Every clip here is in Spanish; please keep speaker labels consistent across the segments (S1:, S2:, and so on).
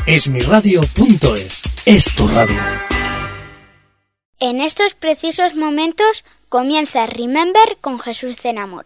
S1: Esmiradio.es es tu radio.
S2: En estos precisos momentos comienza Remember con Jesús Zenamor.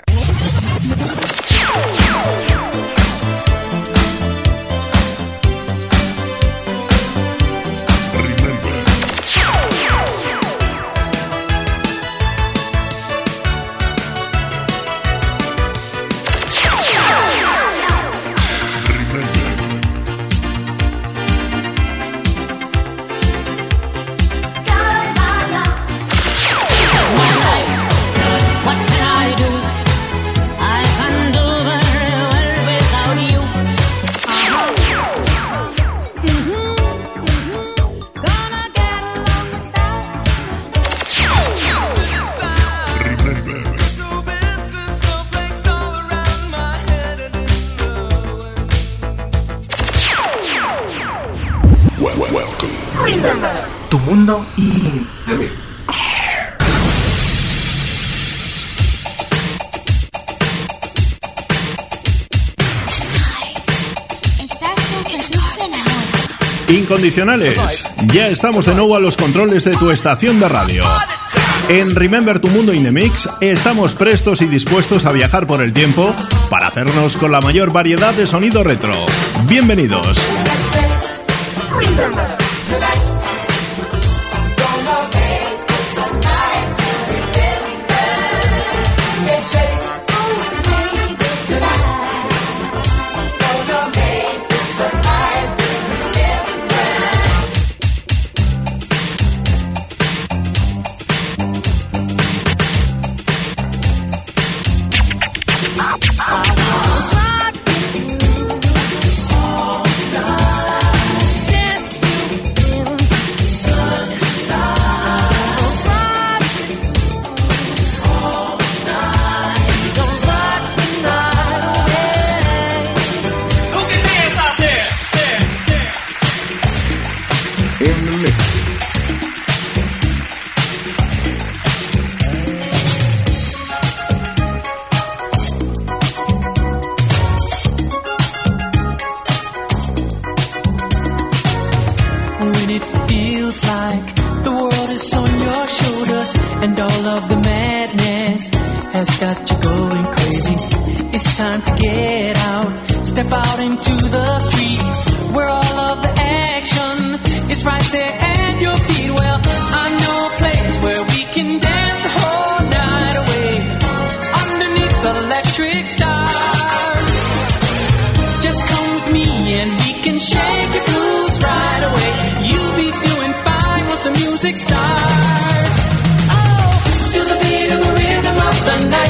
S3: Tu mundo y
S4: Incondicionales, ya estamos de nuevo a los controles de tu estación de radio. En Remember tu mundo Inemix estamos prestos y dispuestos a viajar por el tiempo para hacernos con la mayor variedad de sonido retro. Bienvenidos.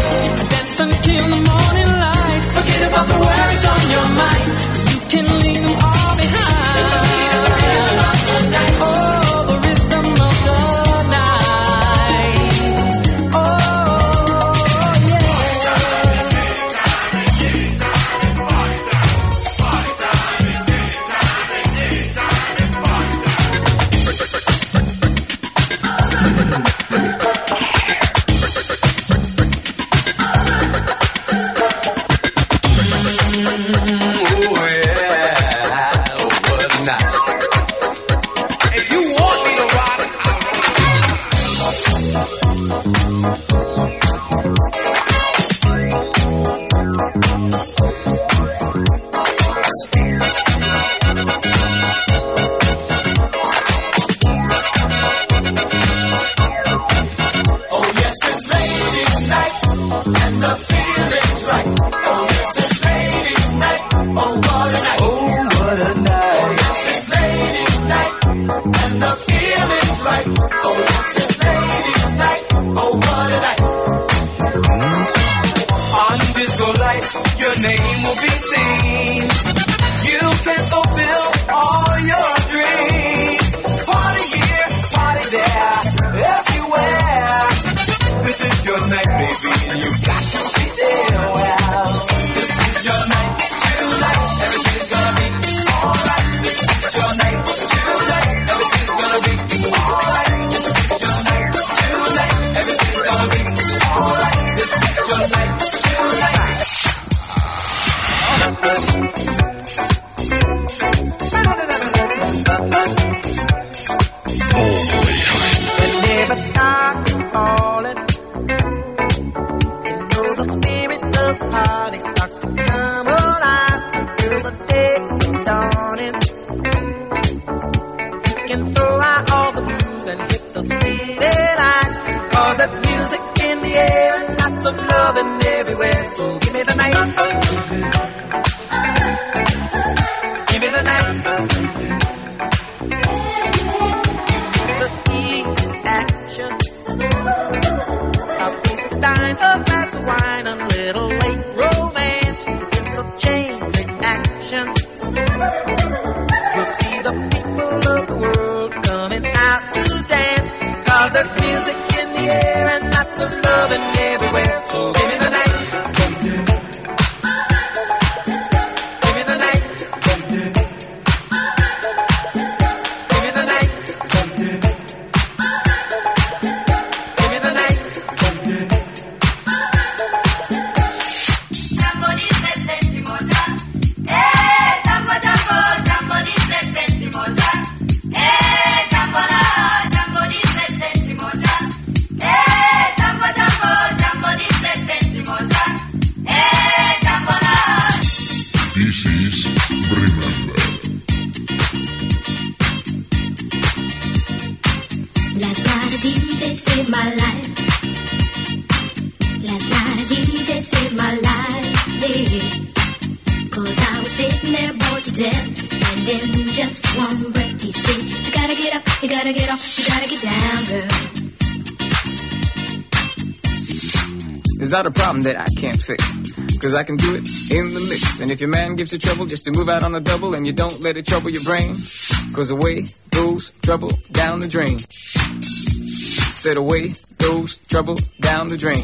S5: Until the morning light, forget about the worries on your mind. You can leave them It's not a problem that I can't fix, cause I can do it in the mix. And if your man gives you trouble just to move out on a double, and you don't let it trouble your brain, cause away goes trouble down the drain. Said away goes trouble down the drain.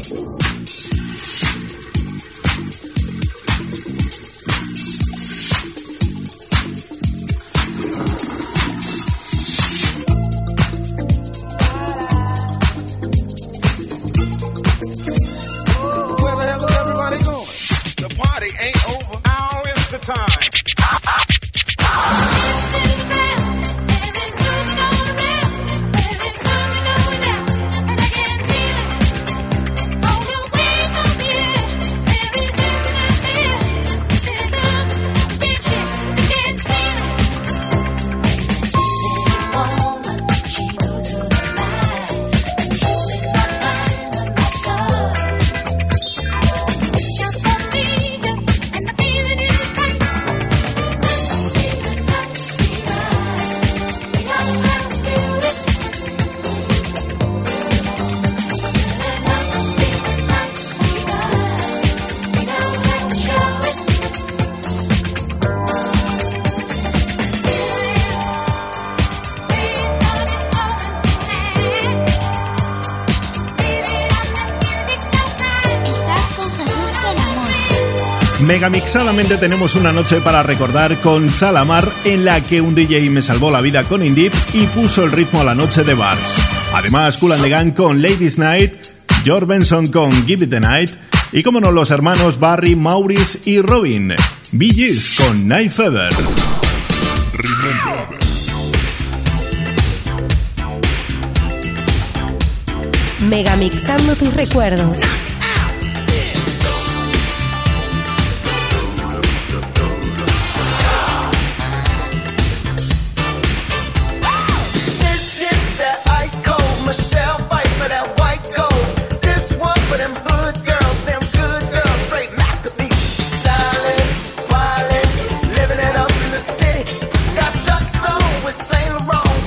S4: Megamixadamente tenemos una noche para recordar con Salamar, en la que un DJ me salvó la vida con Indip y puso el ritmo a la noche de Bars. Además, Kool and the Gang con Ladies Night, George Benson con Give It the Night y, como no, los hermanos Barry, Maurice y Robin. Bee Gees con Night Fever.
S6: Megamixando tus recuerdos.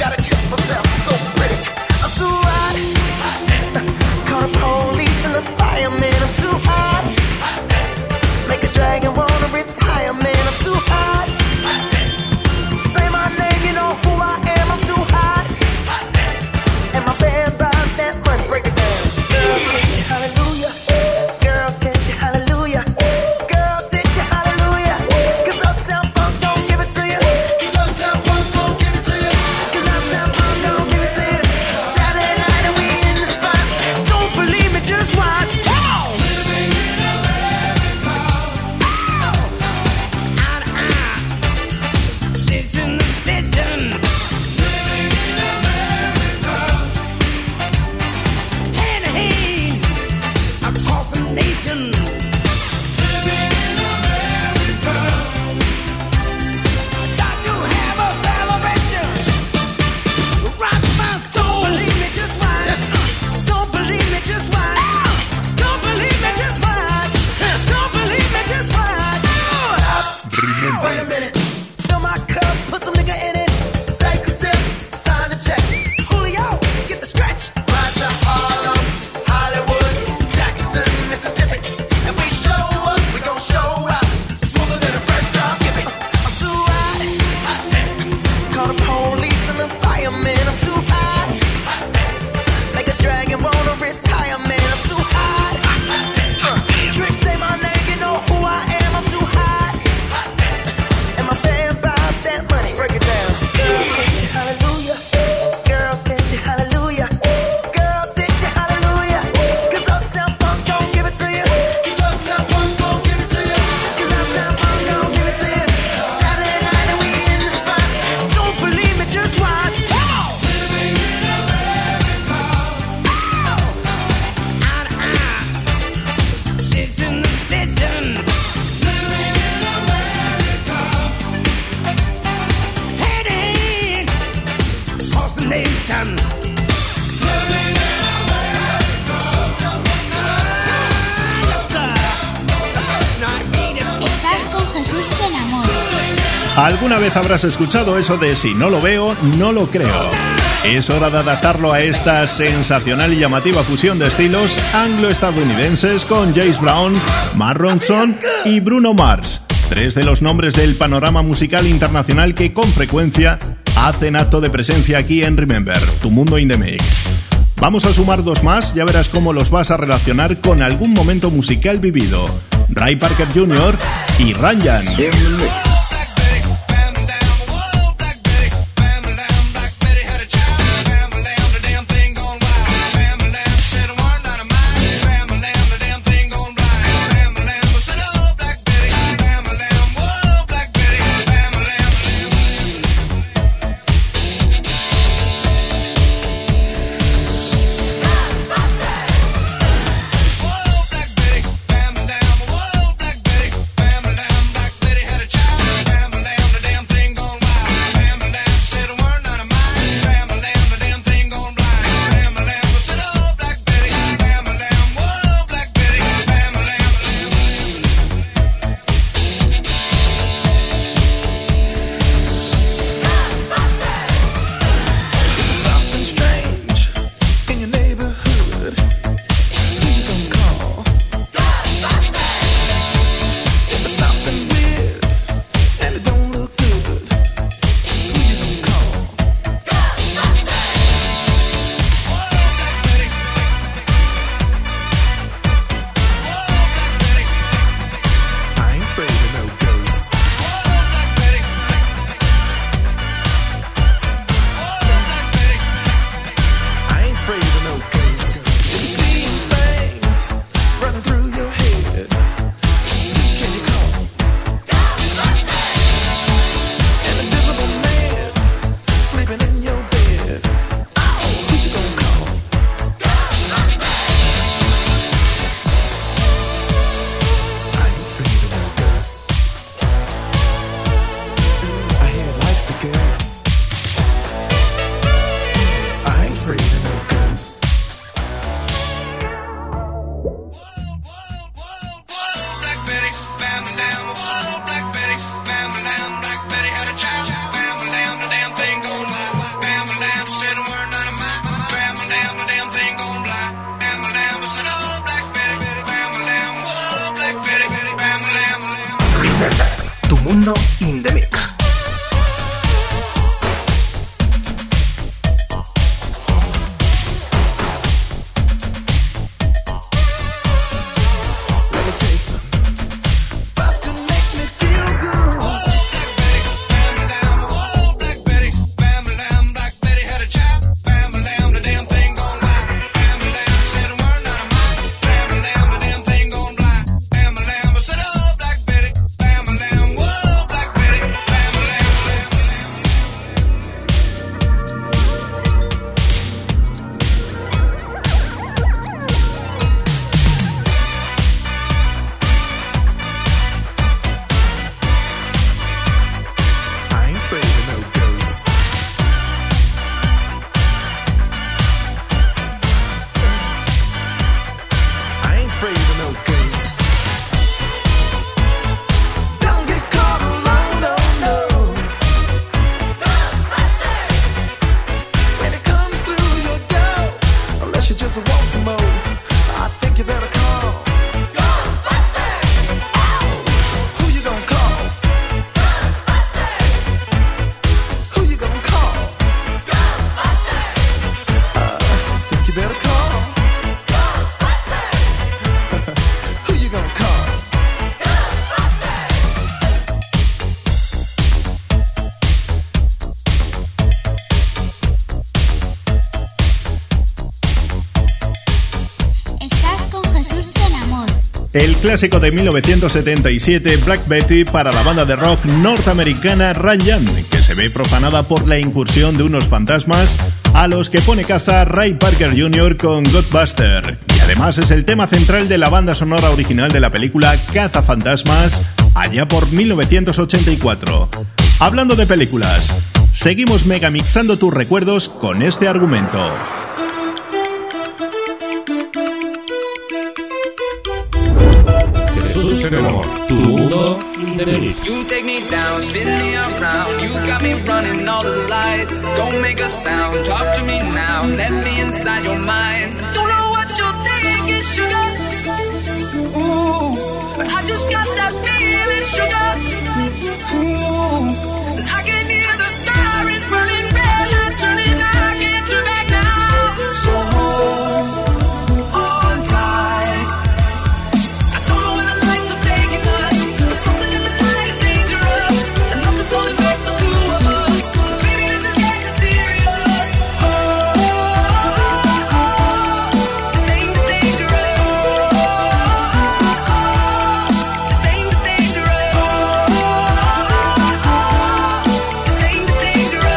S7: Police and the fire.
S1: Jackson.
S2: Estás con Jesús Zenamor.
S4: ¿Alguna vez habrás escuchado eso de si no lo veo, no lo creo? Es hora de adaptarlo a esta sensacional y llamativa fusión de estilos anglo-estadounidenses con James Brown, Mark Ronson y Bruno Mars, tres de los nombres del panorama musical internacional que con frecuencia hacen acto de presencia aquí en Remember, tu mundo in the mix. Vamos a sumar dos más, ya verás cómo los vas a relacionar con algún momento musical vivido. Ray Parker Jr. y Ranjan.
S3: Tu mundo in the mix.
S4: El clásico de 1977, Black Betty, para la banda de rock norteamericana Ranjan, que se ve profanada por la incursión de unos fantasmas a los que pone caza Ray Parker Jr. con Ghostbuster. Y además es el tema central de la banda sonora original de la película Cazafantasmas, allá por 1984. Hablando de películas, Seguimos megamixando tus recuerdos con este argumento.
S3: Jesús en amor, tu mundo indemix.
S5: You take me down, spin me around. You got me running all the lights. Don't make a sound, talk to me now. Let me inside your mind. Don't know what you're thinking, sugar. Ooh, but I just got that feeling, sugar. Ooh, I can hear the sirens burning, red lights turning. I can't turn back now. So hold on tight. I don't know where the lights are taking us. There's something in the night is dangerous. Enough to only make the two of us. Baby, this is getting serious. Oh, the thing is dangerous. The thing is dangerous. The thing is dangerous.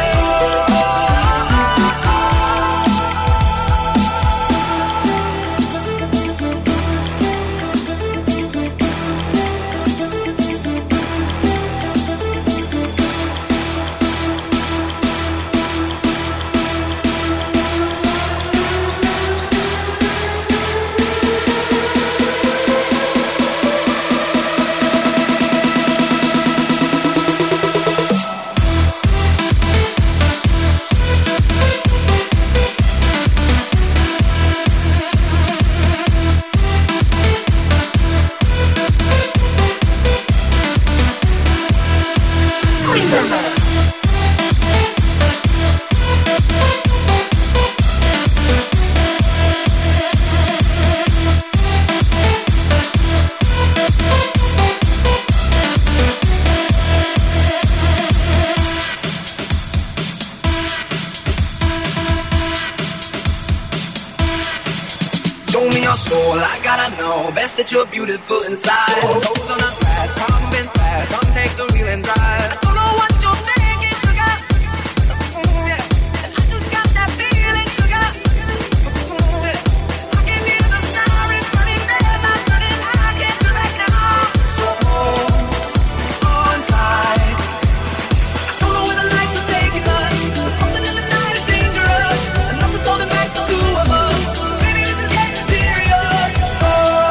S5: Show me your soul, I gotta know. Best that you're beautiful inside. Toes on the glass, come moving fast. Come take the wheel and drive. I don't know what you're thinking, sugar. Yeah. I just got that feeling, sugar. Yeah. I can hear the sirens burning, red lights turning. I can't turn back now. So hold on tight. I don't know where the lights are taking us. Something in the night is dangerous. Enough to hold back the two of us. Baby, this is getting serious. Oh,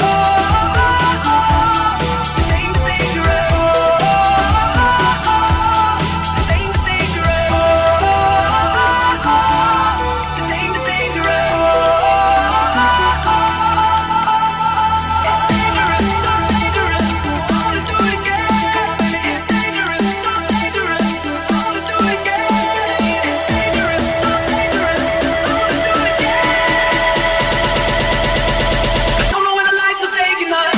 S5: the thing's dangerous. The thing's dangerous. The thing's dangerous. It's dangerous, so dangerous. I wanna do it again. It's dangerous, so dangerous. I wanna do it again. It's dangerous, so dangerous. I wanna do it again. I don't know where the lights are taking us.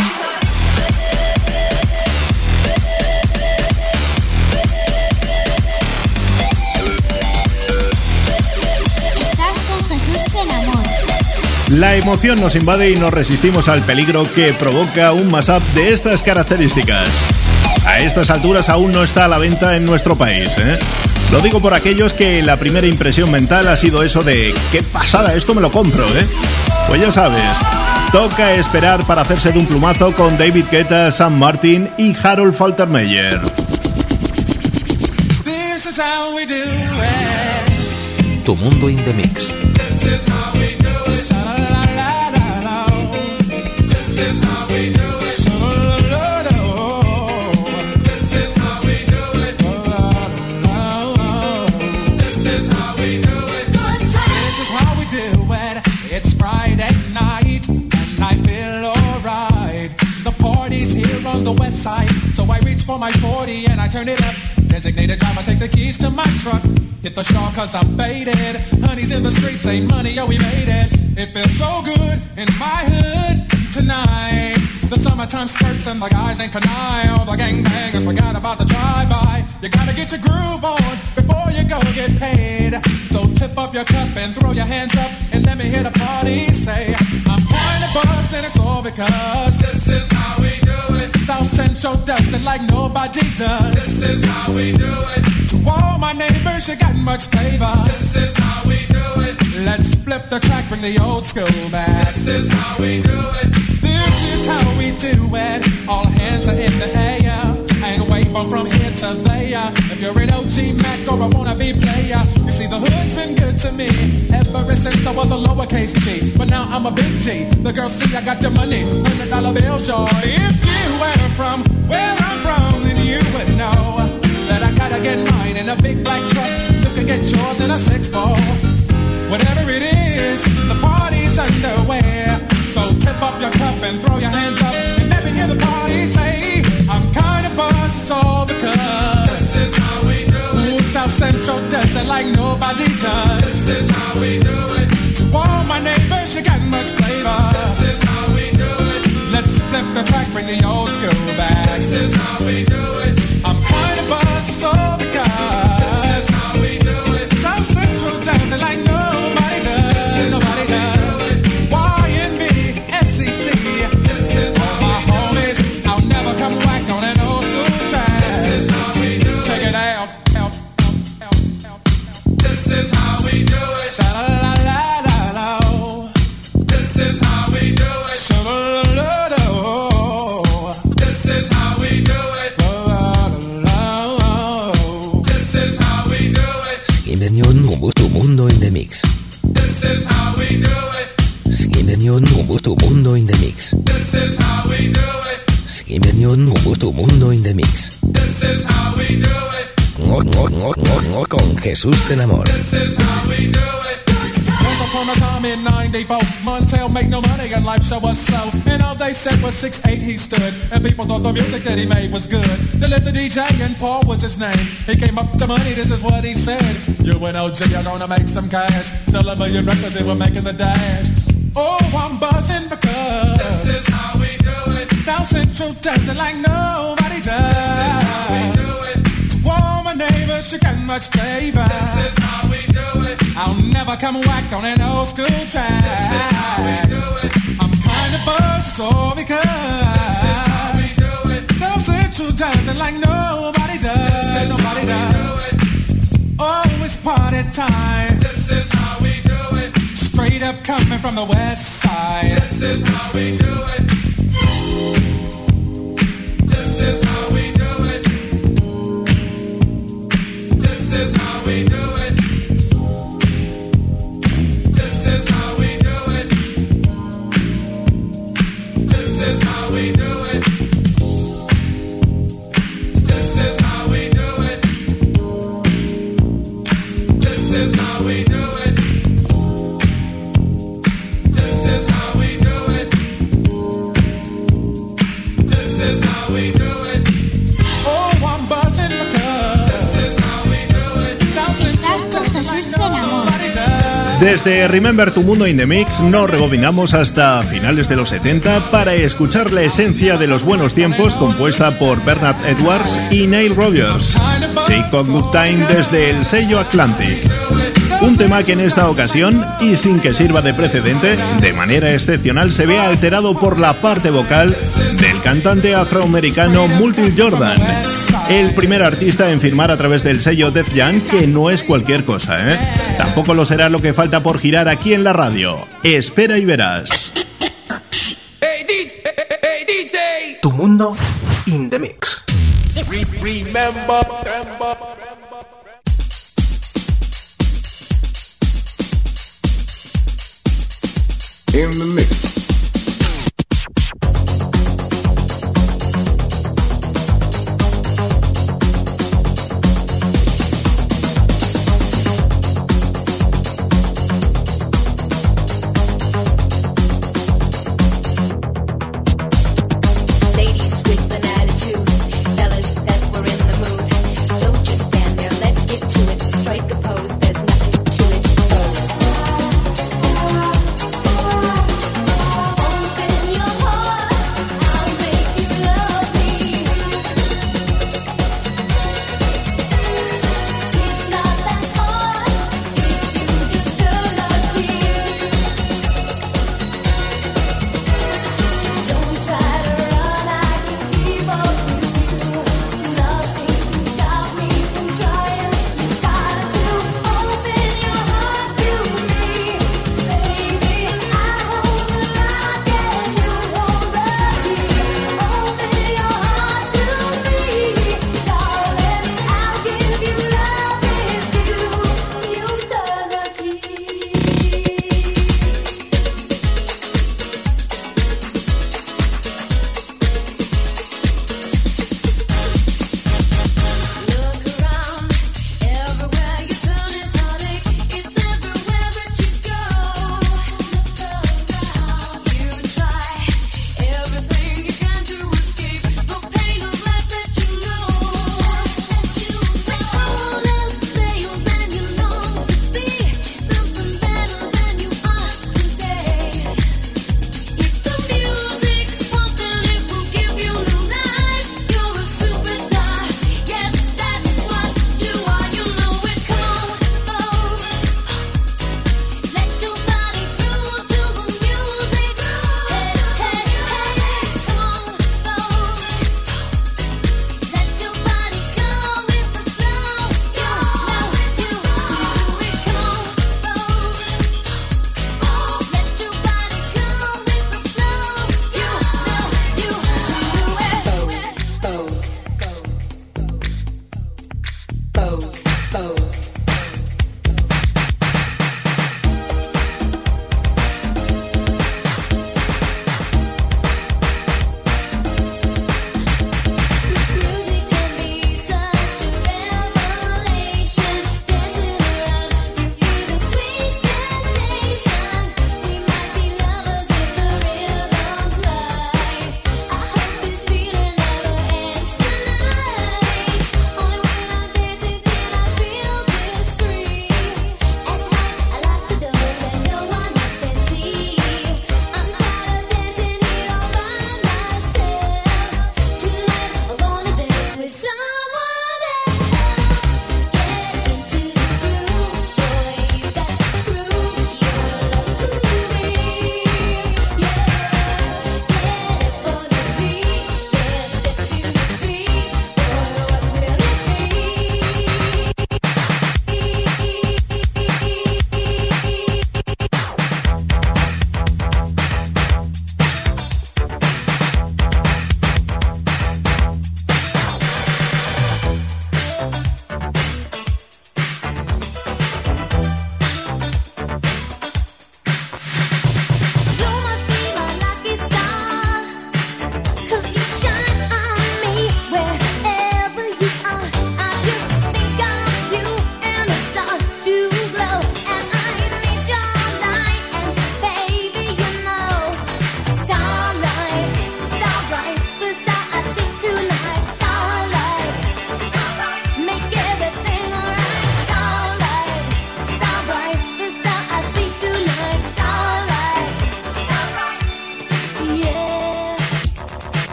S2: Estás con Jesús en amor.
S4: La emoción nos invade y nos resistimos al peligro que provoca un mashup de estas características. A estas alturas aún no está a la venta en nuestro país, ¿eh? Lo digo por aquellos que la primera impresión mental ha sido eso de ¡qué pasada! Esto me lo compro, ¿eh? Pues ya sabes, toca esperar para hacerse de un plumazo con David Guetta, Sam Martin y Harold Faltermeyer.
S7: This is how we do it.
S3: Tu mundo indemix.
S7: This is how we do it. Sha-la-la-la-la-la. This is how we do it. Sha-la-la-la-la. This is how we do it. La-la-la-la. This is how we do it. This is how we do it. It's Friday night and I feel alright. The party's here on the west side, so I reach for my 40 and I turn it up. Designated driver, take the keys to my truck. Hit the shawl cause I'm faded. Honey's in the streets, say money, yo, we made it. It feels so good in my hood tonight. The summertime skirts and the guys ain't canine. All the gangbangers forgot about the drive-by. You gotta get your groove on before you go get paid. So tip up your cup and throw your hands up and let me hear the party say, I'm trying to bust and it's all because this is how we do it. South Central does it like nobody does. This is how we do it. To all my neighbors, you got much flavor. This is how we do it. Let's flip the track, bring the old school back. This is how we do it. This is how we do it. All hands are in the air. I ain't waiting bump from here to there. If you're an OG Mac or a wannabe player, you see the hood's been good to me ever since I was a lowercase G. But now I'm a big G. The girls see I got the money, $100 bills, y'all. If you were from where I'm from, then you would know that I gotta get mine in a big black truck. You can get yours in a 6-4. Whatever it is, the party's underway. So tip up your cup and throw your hands up and let me hear the party say, I'm kinda buzzed, it's all because this is how we do it. Ooh, South Central does it like nobody does. This is how we do it. To all my neighbors, you got much flavor. This is how we do it. Let's flip the track, bring the old school back. This is how we do it. I'm kinda buzzed, it's all because this is how we do it. South Central does it like nobody does. Nobody does.
S1: Tu mundo in the mix.
S7: This is how we do it.
S1: Skimenion tu mundo in the mix.
S7: This is how we do it.
S1: Skimenion tu mundo in the mix.
S7: This is how we do it.
S1: Con Jesús del Amor.
S7: This is how we do it. Once upon a time in 94, Montel make no money and life show was slow. And all they said was 6'8" he stood. And people thought the music that he made was good. They lived the DJ and Paul was his name. He came up to money, this is what he said. You and OG are gonna make some cash. Sell a million records and we're making the dash. Oh, I'm buzzing because this is how we do it. South Central does it like nobody does. This is how we do it. To all my neighbors, you got much flavor. This is how we do it. I'll never come whack on an old school track. This is how we do it. I'm kinda buzzed, all because this is how we do it. South Central does it like nobody does. Nobody does. Oh, it's party time. This is how we do it. Straight up coming from the west side. This is how we do it. This is how we do it. This is how we do it. This is how we do it. This is how we do it. This is how we do it. This is how we do it. This is how we do it. This is how we do it. Oh, I'm buzzing because this is how we do it.
S4: Desde Remember tu Mundo in the Mix nos rebobinamos hasta finales de los 70 para escuchar la esencia de los buenos tiempos compuesta por Bernard Edwards y Neil Rogers. Chick of Good Time desde el sello Atlantic. Un tema que en esta ocasión, y sin que sirva de precedente, de manera excepcional se ve alterado por la parte vocal del cantante afroamericano Multi Jordan, el primer artista en firmar a través del sello Def Jam, que no es cualquier cosa, ¿eh? Tampoco lo será lo que falta por girar aquí en la radio. Espera y verás.
S3: Tu mundo in the mix.
S8: Remember.
S5: In the mix.
S9: Strike a pose, there's nothing to it.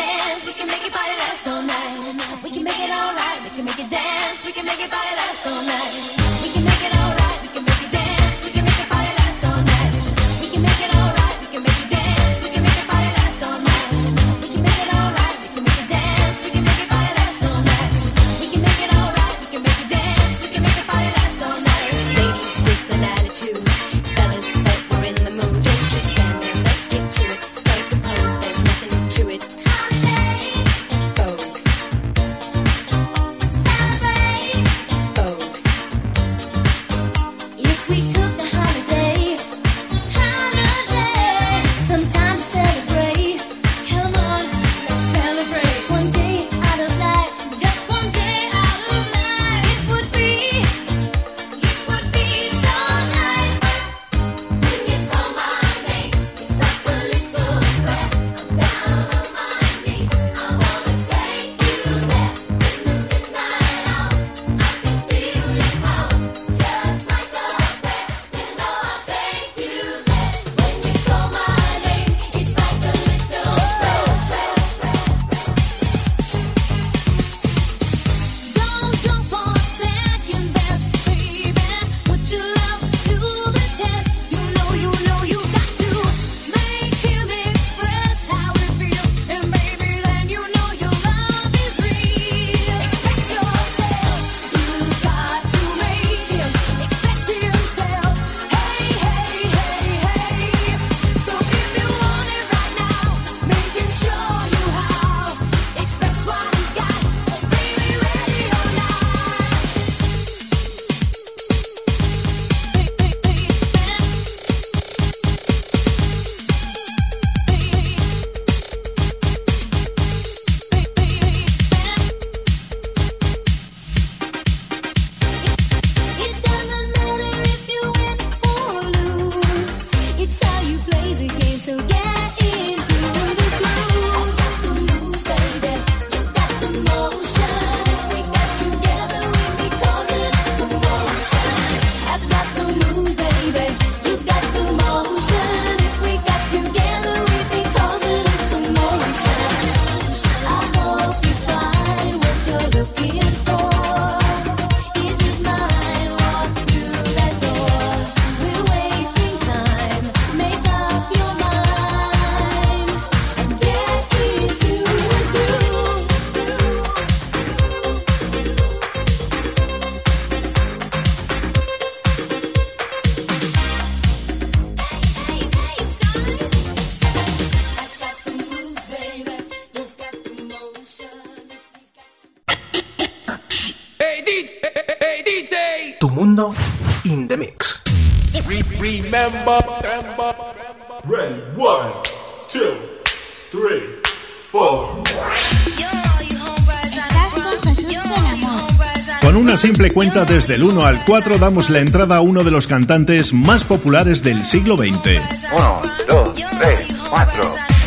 S9: dance, we can make your body last all night. We can make it alright, we can make it dance, we can make your body last all night. We can make it alright, we can make it dance, we can make your body last all night. We can make it alright, we can make it dance, we can make your body last all night. We can make it alright, we can make it dance, we can make your body last all night. We can make it alright, we can make it dance, we can make your body last all night. Ladies with an attitude, fellas that were in the mood, just stand and let's get to it. Strike the pose, there's nothing to it. Vogue. Vogue. If we took a holiday, some time to celebrate. Come on, let's celebrate. Just one day out of life, just one day out of life. It would be so nice. When you call my name, it's like a little breath. I'm down on my knees. I wanna take you there. In the midnight hour, I can feel your power. Just like a breath, you know I'll take you there. When you call my name, it's like a little breath. Don't go for second best, baby. Put your love to the test. You know you got to make him express how it feels. And baby, then you know your love is real. Express yourself. You got to make him express himself. Hey, hey, hey, hey. So if you want it right now, make him show you how. Express what he's got. Baby, ready or not. It doesn't matter if you win or lose. It's how you play the game, so get into the groove. I got the moves, baby. You got the motion. If we got together, we'd be causing a commotion. I've got the moves, baby. You got the motion. If we got together, we'd be causing a commotion. I hope you find what you're looking for. Is it mine? Walk through that door. We're wasting time. Make up your mind and get into the groove. Hey, hey, hey, guys. I got the moves, baby. You got the motion.
S5: Hey DJ!
S3: Tu mundo in the mix.
S8: Remember.
S10: Ready, 1, 2, 3, 4.
S2: Estás con Jesús Fenamor.
S4: Con una simple cuenta desde el 1 al 4 damos la entrada a uno de los cantantes más populares del siglo XX.
S11: 1, 2, 3, 4.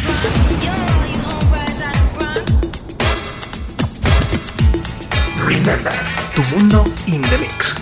S3: Remember, tu mundo in the mix.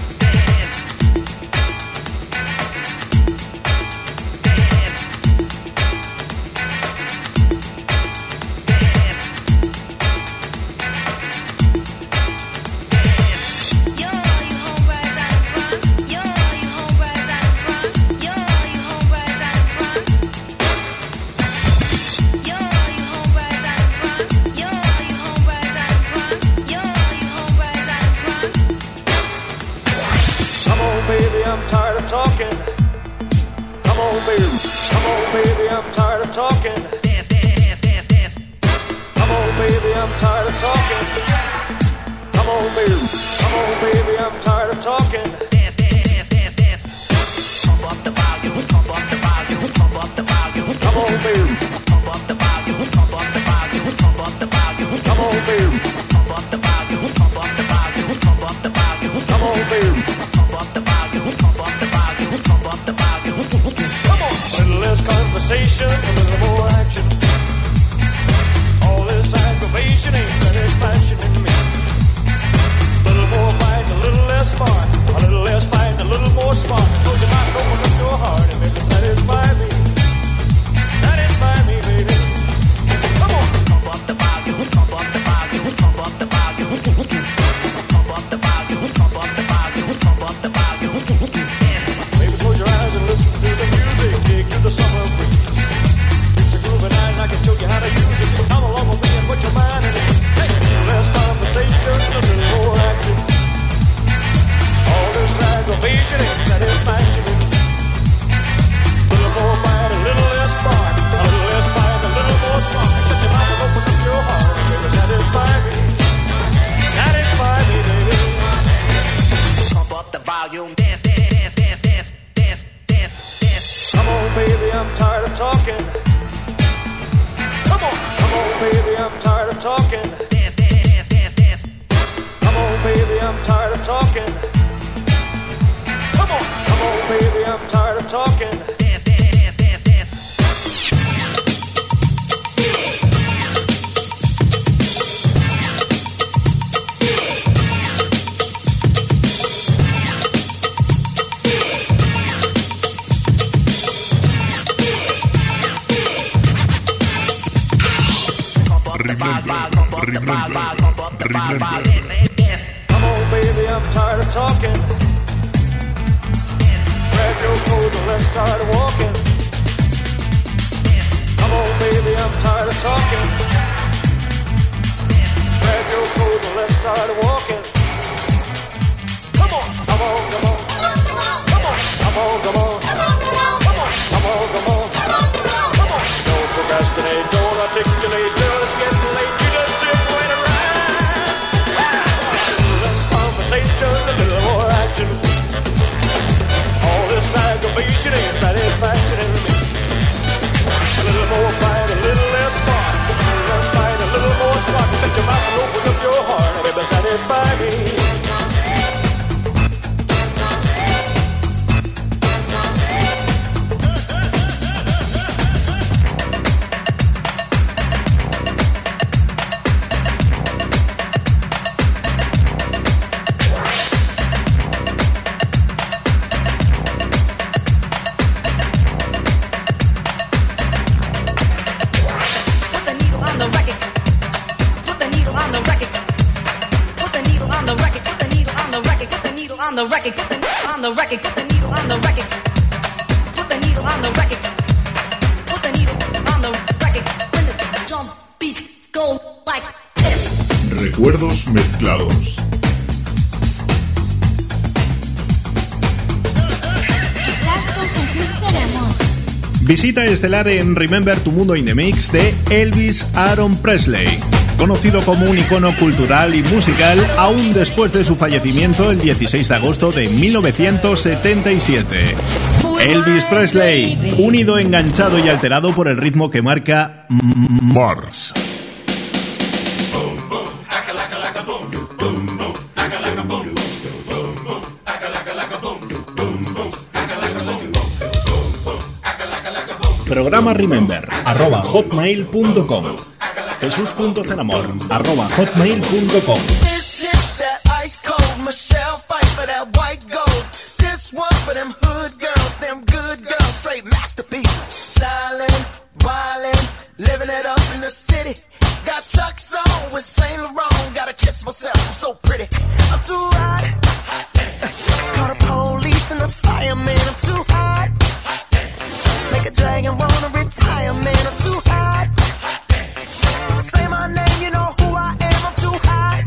S12: Come on, baby, I'm tired of talking. Come on, baby, I'm tired of talking. Come on, baby, I'm tired of talking. Come on, baby, I'm tired of talking. Pump up the volume, pump up the volume, pump up the volume. Come on, baby. Pump up the volume, pump up the volume, pump up the volume. Come on, baby. Pump up the volume, pump up the volume, pump up the volume. Come on, baby. Pump up the volume, pump up the volume, pump up the volume. Come on. A little less conversation, a little more action. All this aggravation ain't satisfaction in me. A little more fight, a little less smart. A little less fight, a little more smart. Close your mouth, open up your heart, and make it satisfy me. Satisfy me.
S13: of talking.
S7: Remember.
S13: Come on, baby, I'm tired of talking. Grab your coat and let's start walking. Come on, baby, I'm tired of talking. Grab your coat and let's start walking. Come on, come on, come on. Come on, come on, come on. Come on, come on. Come on. Don't procrastinate, don't articulate, just get late. You just sit right around. Less conversation, a little more action. All this aggravation ain't satisfaction in me. A little more fight, a little less spark. A little less fight, a little more spark. Shut your mouth and open up your heart, baby, satisfy me.
S10: Recuerdos mezclados.
S4: Visita estelar en Remember Tu Mundo in the Mix de Elvis Aaron Presley, conocido como un icono cultural y musical aún después de su fallecimiento el 16 de agosto de 1977. Elvis Presley, unido, enganchado y alterado por el ritmo que marca Mars. Programa Remember @hotmail.com. Jesús.cenamor @hotmail.com.
S14: This hit that ice cold Michelle fight for that white gold. This one for them hood girls, them good girls, straight masterpieces. Stylin', wildin', living it up in the city. Got Chuck's on with Saint Laurent. Gotta kiss myself, I'm so pretty. I'm too hot. Call the police and the fireman. I'm too hot. Make a dragon wanna retire, man. I'm too hot. Say my name, you know who I am. I'm too hot.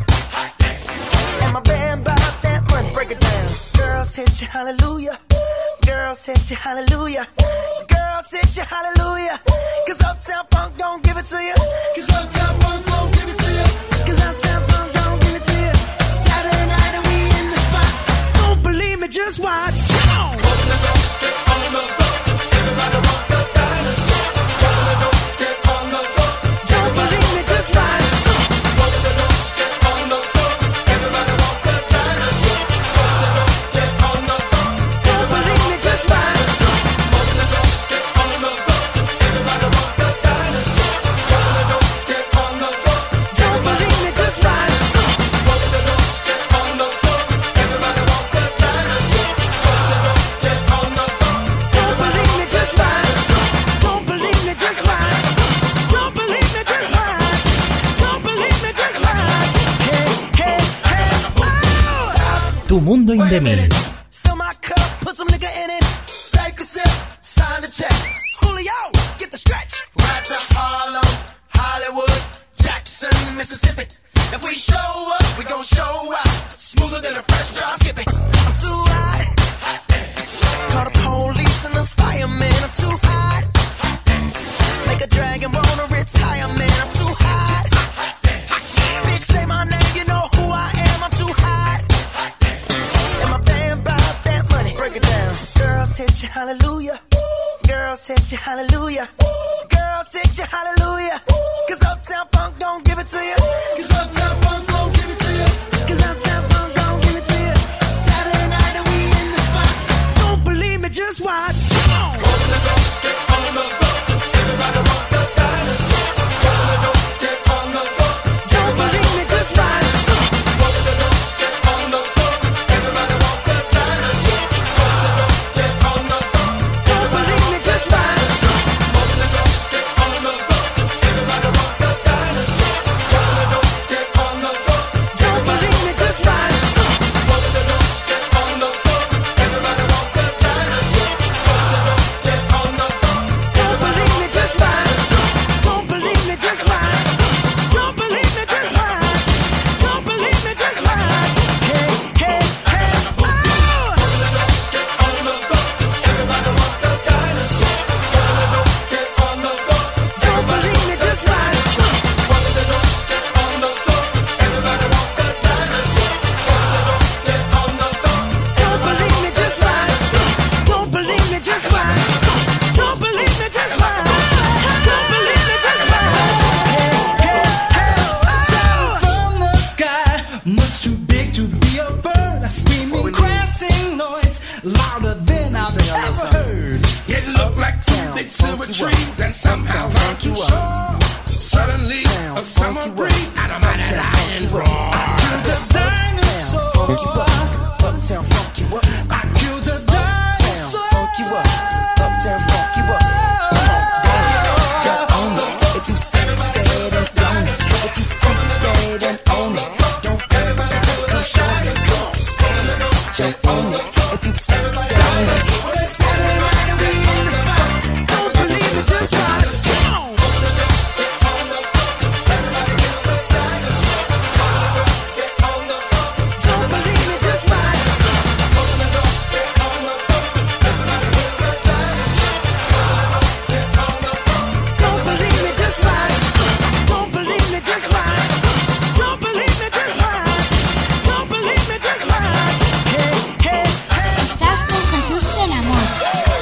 S14: And my band bought that money. Break it down. Girls hit you, hallelujah. Girls hit you, hallelujah. Girls hit you, hallelujah. Cause Uptown Funk don't give it to you. Cause Uptown Funk don't give it to you. Cause Uptown Funk don't give it to you. Saturday night and we in the spot. Don't believe me, just watch. Open the door, get on the floor. Everybody rock the dinosaur. Open the door, get on the floor. Don't believe me, just watch. Open the door, get on the floor. Everybody rock the dinosaur. Open the door, get on the floor. Don't believe me, just watch. Open the door, get on the floor. Everybody rock the dinosaur. Open the door, get on the floor. Don't believe me, just watch. Open the door, get on the floor. Everybody rock the dinosaur. Open the door, get on the floor. Don't believe me, just watch. Don't believe me, just watch. Don't believe me, just watch. Don't believe me, just watch. Hey, hey, hey. Stop.
S1: Tu Mundo in the Mix.
S14: Fill my cup, put some nigga in it. Take a sip, sign the check. Julio, get the stretch. Right to Harlem, Hollywood, Jackson, Mississippi. If we show up, we gon' show out. Smoother than a fresh drop skipping. I'm too hot. Call the police and the fireman. I'm too hot. Make a dragon wanna retire, man. I'm too hot. Bitch, say my name, you know who I am. I'm too hot. And my band bought that money. Break it down. Girls hit you, hallelujah. Girls hit you, hallelujah. Girls hit you, hallelujah. Cause Uptown Funk don't give it to you. Cause Uptown Funk don't give it to you. Cause Uptown Funk don't give it to you. Saturday night and we in the spot. Don't believe me, just watch.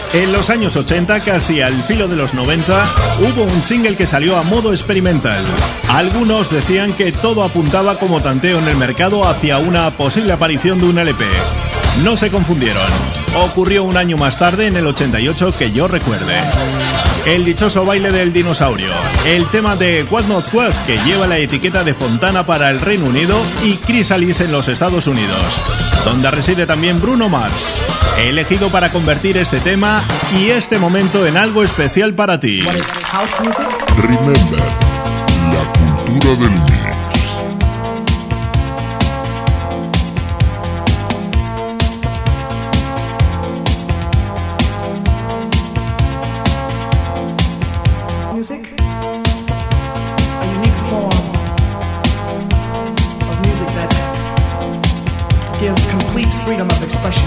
S4: En los años 80, casi al filo de los 90, hubo un single que salió a modo experimental. Algunos decían que todo apuntaba como tanteo en el mercado hacia una posible aparición de un LP. No se confundieron. Ocurrió un año más tarde, en el 88, que yo recuerde. El dichoso baile del dinosaurio, el tema de What Not Was, que lleva la etiqueta de Fontana para el Reino Unido y Chrysalis en los Estados Unidos, donde reside también Bruno Mars, elegido para convertir este tema y este momento en algo especial para ti.
S10: Remember, la cultura del mix.
S15: Gives complete freedom of expression.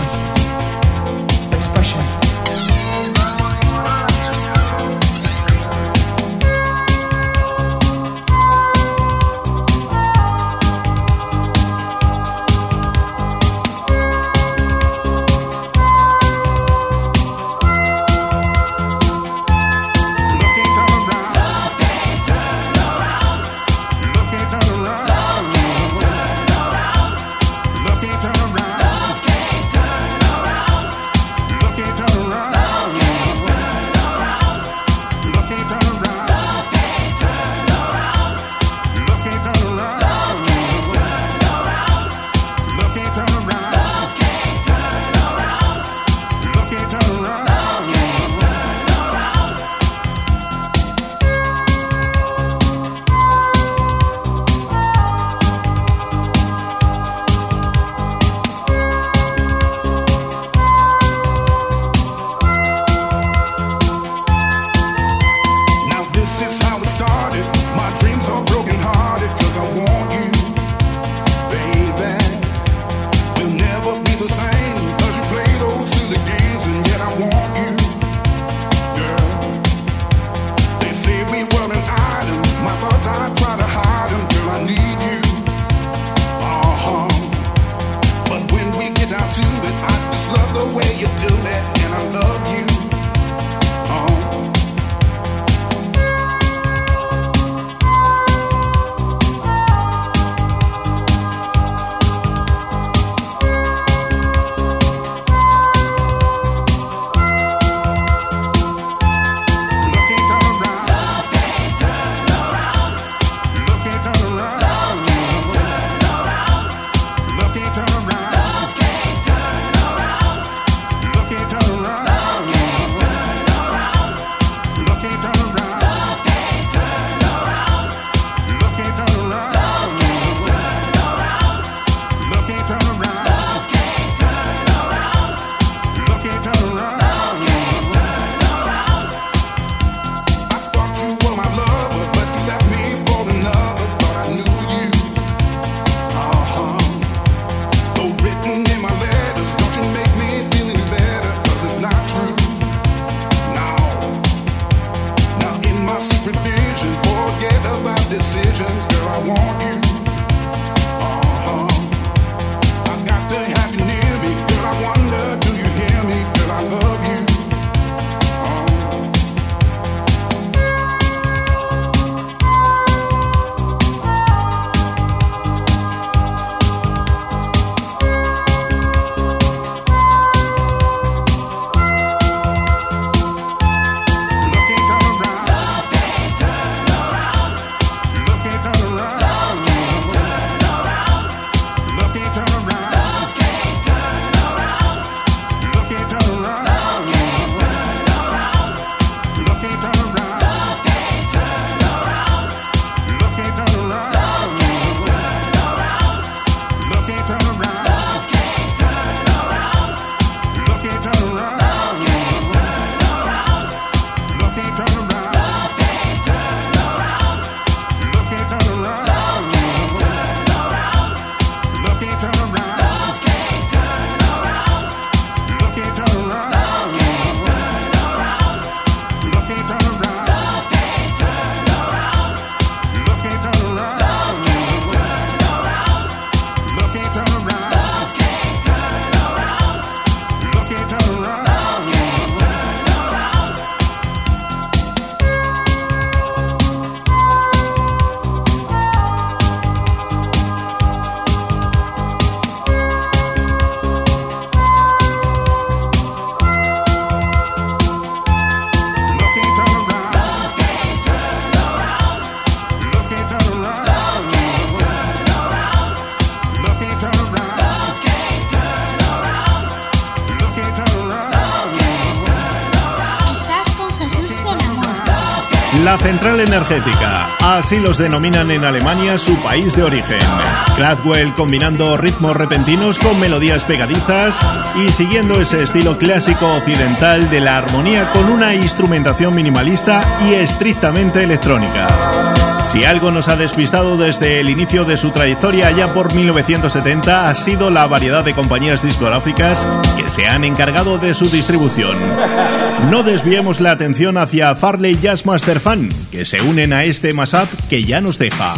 S4: La central energética, así los denominan en Alemania, su país de origen. Kraftwerk combinando ritmos repentinos con melodías pegadizas y siguiendo ese estilo clásico occidental de la armonía con una instrumentación minimalista y estrictamente electrónica. Si algo nos ha despistado desde el inicio de su trayectoria allá por 1970 ha sido la variedad de compañías discográficas que se han encargado de su distribución. No desviemos la atención hacia Farley Jazzmaster Fan, que se unen a este mashup que ya nos deja.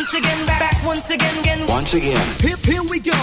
S16: Once again. Here we go.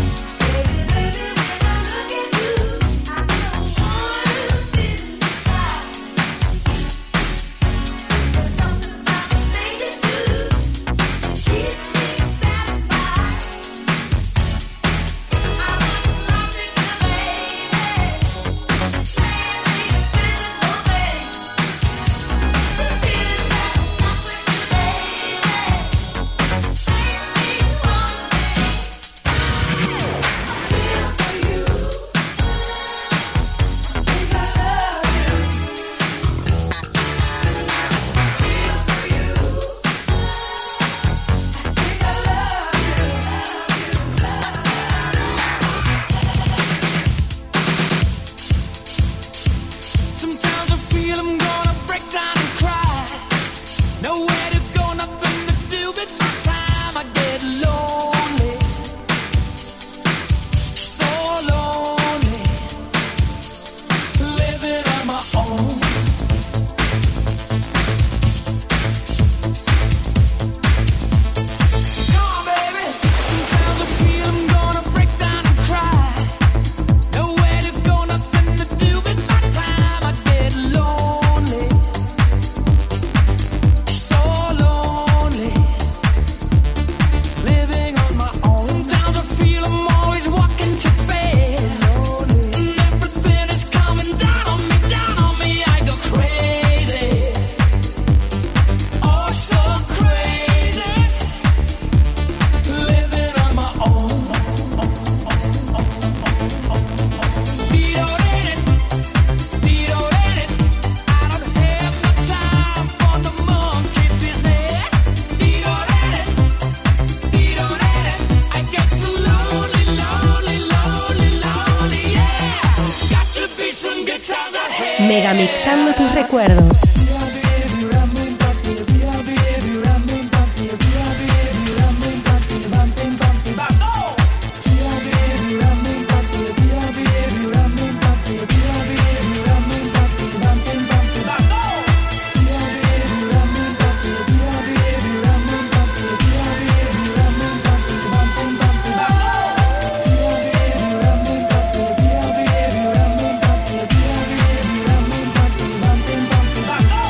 S6: Megamixando tus recuerdos.
S7: Back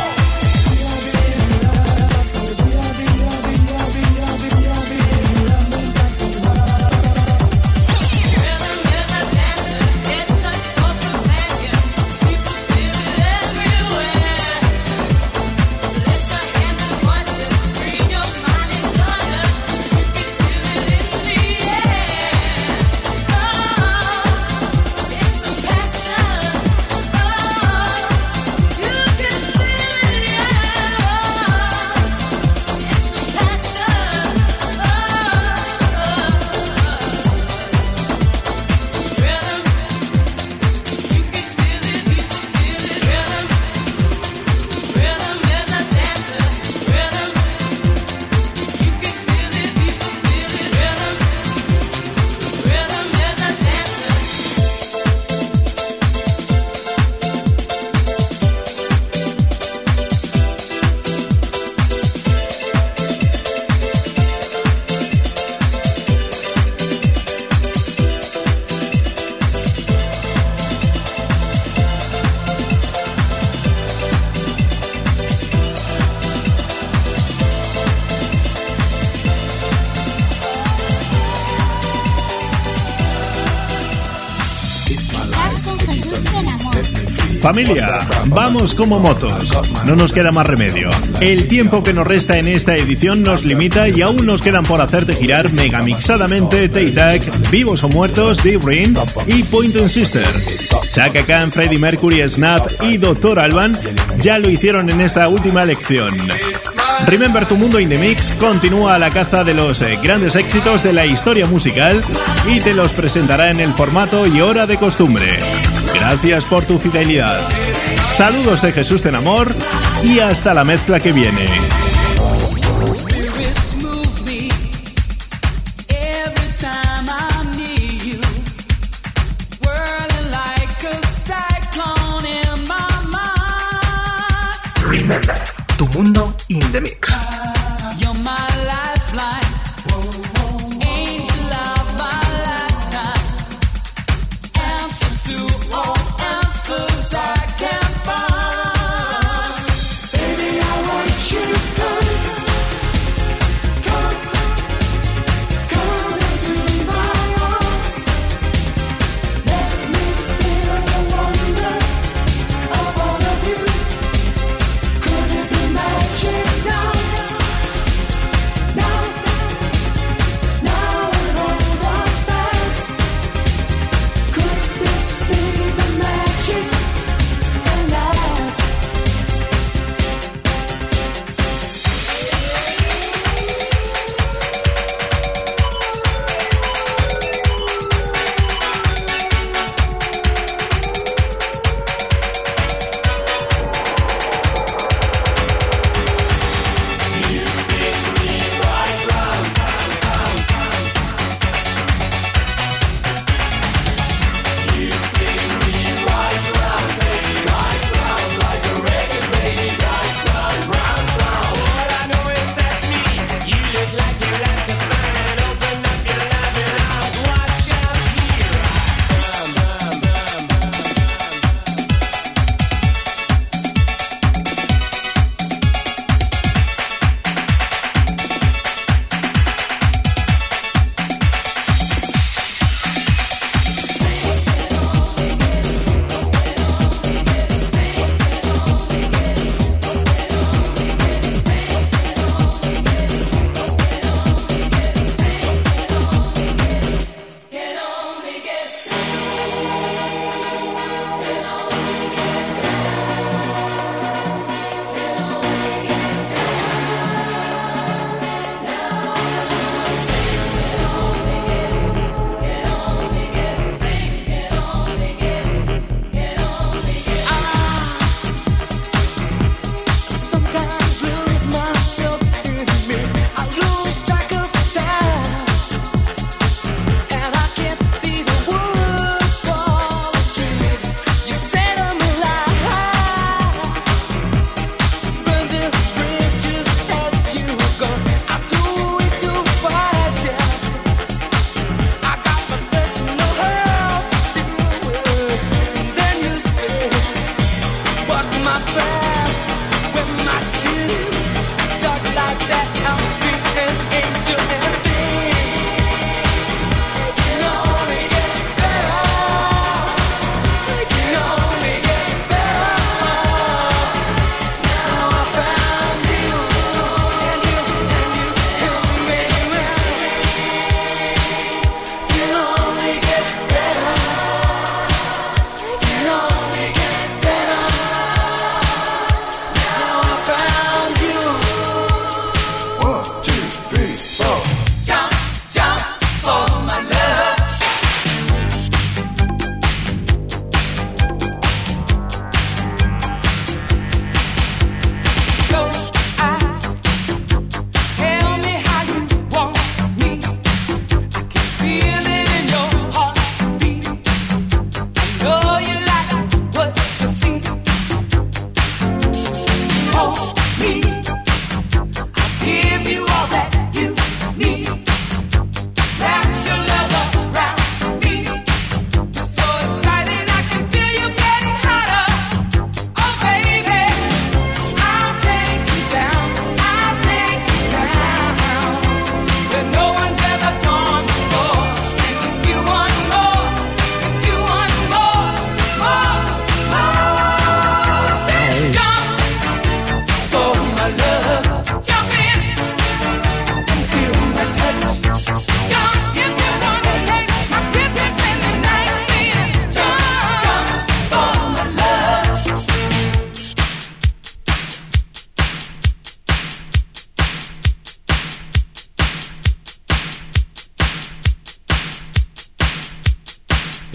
S4: Familia, vamos como motos. No nos queda más remedio. El tiempo que nos resta en esta edición nos limita y aún nos quedan por hacerte girar megamixadamente Tay-Tac, Vivos o Muertos, Deep Ring y Point & Sister. Chaka Khan, Freddie Mercury, Snap y Dr. Alban ya lo hicieron en esta última elección. Remember Tu Mundo in the Mix continúa a la caza de los grandes éxitos de la historia musical y te los presentará en el formato y hora de costumbre. Gracias por tu fidelidad. Saludos de Jesús Tenamor y hasta la mezcla que viene.
S3: Remember, Tu Mundo in the Mix.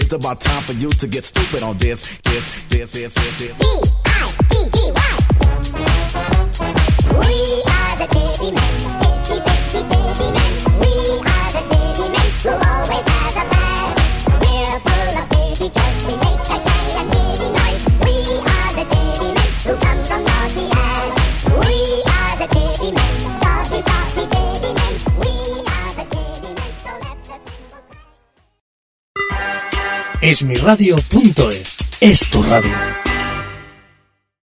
S16: It's about time for you to get stupid on this.
S9: D-I-D-D-Y. We are the Diddy Men, Diddy, Diddy, Diddy Men. We are the Diddy Men who always has a blast. We're full of diddy 'cause we make a gay and diddy noise. We are the Diddy Men who come from naughty ass. We are the Diddy Men, naughty, naughty Diddy Men. We are the Diddy Men, so let the singles...
S17: Esmiradio.es es tu radio.